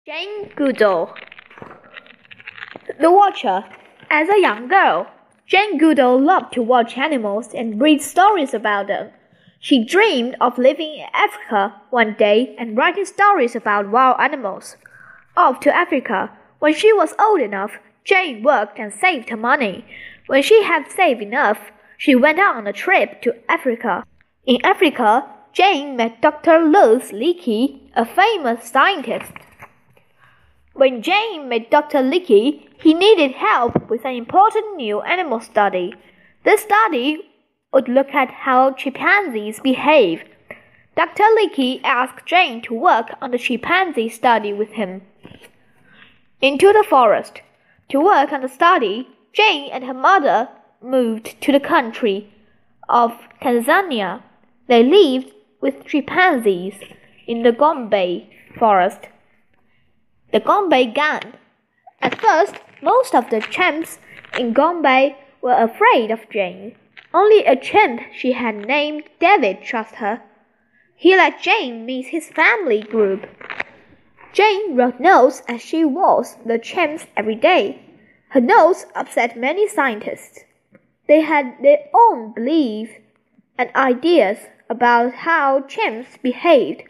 Jane Goodall. The Watcher. As a young girl, Jane Goodall loved to watch animals and read stories about them. She dreamed of living in Africa one day and writing stories about wild animals. Off to Africa. When she was old enough, Jane worked and saved her money. When she had saved enough, she went on a trip to Africa. In Africa, Jane met Dr. Louis Leakey, a famous scientist. When Jane met Dr. Leakey, he needed help with an important new animal study. This study would look at how chimpanzees behave. Dr. Leakey asked Jane to work on the chimpanzee study with him. Into the forest. To work on the study, Jane and her mother moved to the country of Tanzania. They lived with chimpanzees in the Gombe forest. The Gombe Gang. At first, most of the chimps in Gombe were afraid of Jane. Only a chimp she had named David trusted her. He let Jane meet his family group. Jane wrote notes as she watched the chimps every day. Her notes upset many scientists. They had their own beliefs and ideas about how chimps behaved.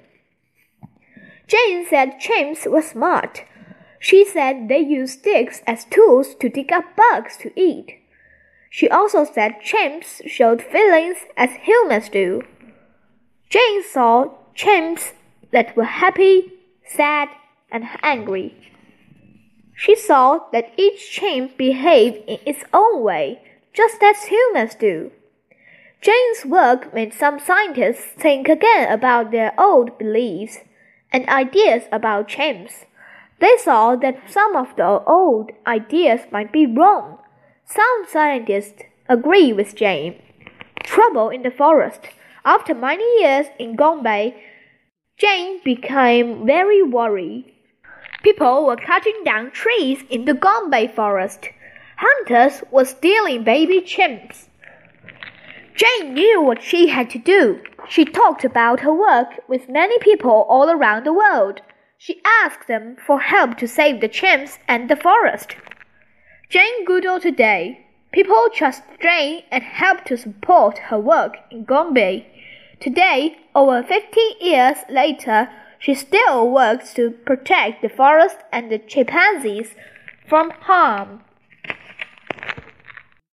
Jane said chimps were smart. She said they used sticks as tools to dig up bugs to eat. She also said chimps showed feelings as humans do. Jane saw chimps that were happy, sad, and angry. She saw that each chimp behaved in its own way, just as humans do. Jane's work made some scientists think again about their old beliefs and ideas about chimps. They saw that some of the old ideas might be wrong. Some scientists agree with Jane. Trouble in the forest. After many years in Gombe, Jane became very worried. People were cutting down trees in the Gombe forest. Hunters were stealing baby chimps. Jane knew what she had to do. She talked about her work with many people all around the world. She asked them for help to save the chimps and the forest. Jane Goodall today. People trust Jane and help to support her work in Gombe. Today, over 50 years later, she still works to protect the forest and the chimpanzees from harm.